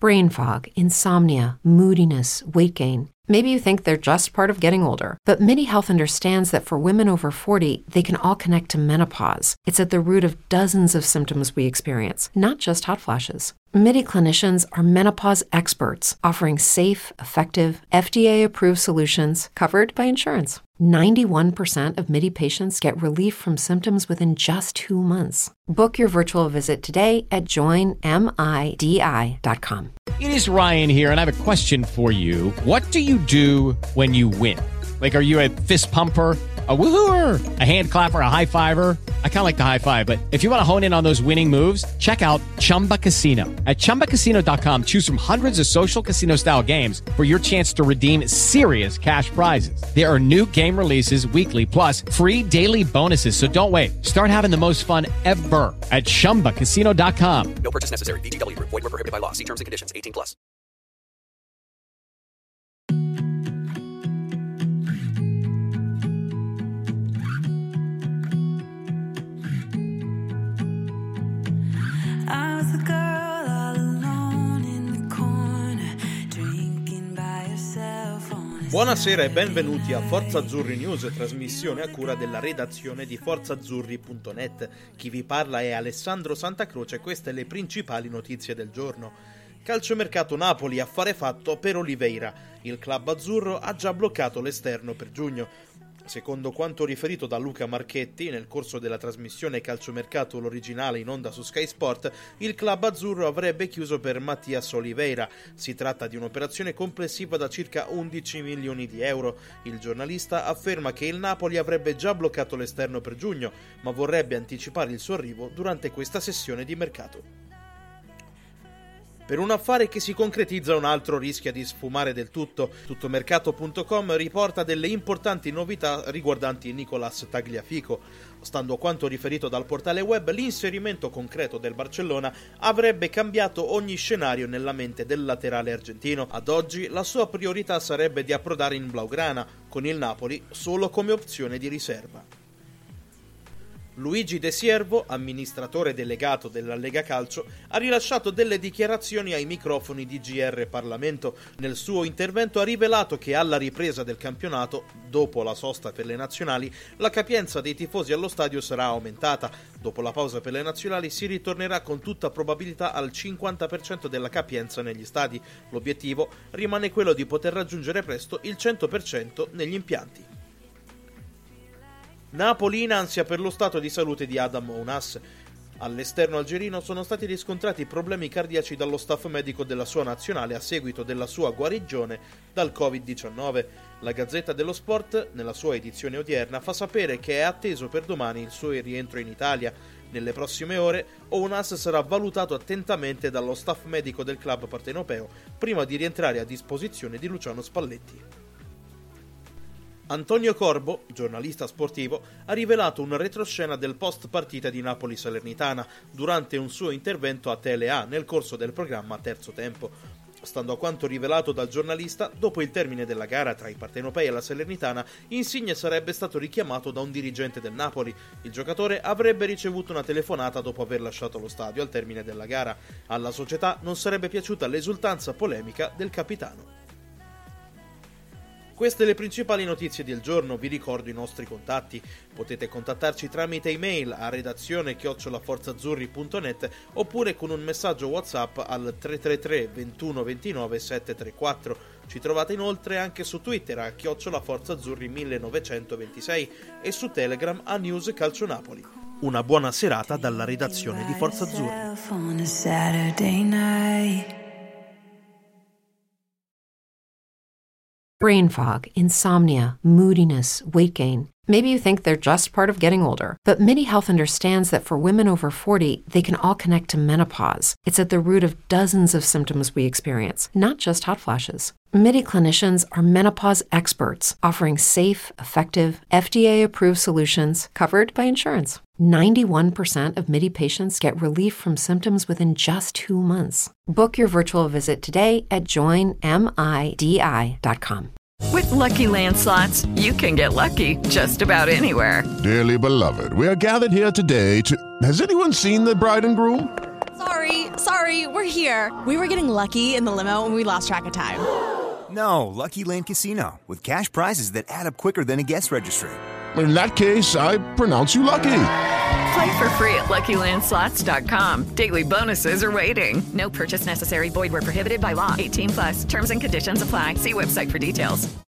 Brain fog, insomnia, moodiness, weight gain. Maybe you think they're just part of getting older, but MIDI Health understands that for women over 40, they can all connect to menopause. It's at the root of dozens of symptoms we experience, not just hot flashes. MIDI clinicians are menopause experts, offering safe, effective, FDA-approved solutions covered by insurance. 91% of MIDI patients get relief from symptoms within just 2 months. Book your virtual visit today at joinmidi.com. It is Ryan here, and I have a question for you. What do you do when you win? Like, are you a fist pumper, a woo-hooer, a hand clapper, a high fiver? I kind of like the high five, but if you want to hone in on those winning moves, check out Chumba Casino. At ChumbaCasino.com, choose from hundreds of social casino-style games for your chance to redeem serious cash prizes. There are new game releases weekly, plus free daily bonuses, so don't wait. Start having the most fun ever at ChumbaCasino.com. No purchase necessary. VGW. Void where prohibited by law. See terms and conditions. 18+. Buonasera e benvenuti a Forza Azzurri News, trasmissione a cura della redazione di forzazzurri.net. Chi vi parla è Alessandro Santacroce e queste le principali notizie del giorno. Calciomercato Napoli, affare fatto per Oliveira. Il club azzurro ha già bloccato l'esterno per giugno. Secondo quanto riferito da Luca Marchetti nel corso della trasmissione Calciomercato l'originale in onda su Sky Sport, il club azzurro avrebbe chiuso per Mattias Oliveira. Si tratta di un'operazione complessiva da circa 11 milioni di euro. Il giornalista afferma che il Napoli avrebbe già bloccato l'esterno per giugno, ma vorrebbe anticipare il suo arrivo durante questa sessione di mercato. Per un affare che si concretizza, un altro rischia di sfumare del tutto. Tuttomercato.com riporta delle importanti novità riguardanti Nicolás Tagliafico. Stando a quanto riferito dal portale web, l'inserimento concreto del Barcellona avrebbe cambiato ogni scenario nella mente del laterale argentino. Ad oggi la sua priorità sarebbe di approdare in Blaugrana, con il Napoli solo come opzione di riserva. Luigi De Siervo, amministratore delegato della Lega Calcio, ha rilasciato delle dichiarazioni ai microfoni di GR Parlamento. Nel suo intervento ha rivelato che alla ripresa del campionato, dopo la sosta per le nazionali, la capienza dei tifosi allo stadio sarà aumentata. Dopo la pausa per le nazionali si ritornerà con tutta probabilità al 50% della capienza negli stadi. L'obiettivo rimane quello di poter raggiungere presto il 100% negli impianti. Napoli in ansia per lo stato di salute di Adam Ounas. All'esterno algerino sono stati riscontrati problemi cardiaci dallo staff medico della sua nazionale a seguito della sua guarigione dal Covid-19. La Gazzetta dello Sport, nella sua edizione odierna, fa sapere che è atteso per domani il suo rientro in Italia. Nelle prossime ore, Ounas sarà valutato attentamente dallo staff medico del club partenopeo prima di rientrare a disposizione di Luciano Spalletti. Antonio Corbo, giornalista sportivo, ha rivelato una retroscena del post partita di Napoli-Salernitana durante un suo intervento a Tele-A nel corso del programma Terzo Tempo. Stando a quanto rivelato dal giornalista, dopo il termine della gara tra i partenopei e la Salernitana, Insigne sarebbe stato richiamato da un dirigente del Napoli. Il giocatore avrebbe ricevuto una telefonata dopo aver lasciato lo stadio al termine della gara. Alla società non sarebbe piaciuta l'esultanza polemica del capitano. Queste le principali notizie del giorno. Vi ricordo i nostri contatti. Potete contattarci tramite email a redazione@forzazzurri.net oppure con un messaggio WhatsApp al 333 21 29 734. Ci trovate inoltre anche su Twitter a @forzazzurri1926 e su Telegram a News Calcio Napoli. Una buona serata dalla redazione di Forza Azzurri. Brain fog, insomnia, moodiness, weight gain. Maybe you think they're just part of getting older, but MIDI Health understands that for women over 40, they can all connect to menopause. It's at the root of dozens of symptoms we experience, not just hot flashes. MIDI clinicians are menopause experts, offering safe, effective, FDA-approved solutions covered by insurance. 91% of MIDI patients get relief from symptoms within just 2 months. Book your virtual visit today at joinmidi.com. With Lucky Land Slots, you can get lucky just about anywhere. Dearly beloved, we are gathered here today to... Has anyone seen the bride and groom? Sorry, we're here. We were getting lucky in the limo and we lost track of time. No, Lucky Land Casino, with cash prizes that add up quicker than a guest registry. In that case, I pronounce you lucky. Play for free at LuckyLandSlots.com. Daily bonuses are waiting. No purchase necessary. Void where prohibited by law. 18+. Terms and conditions apply. See website for details.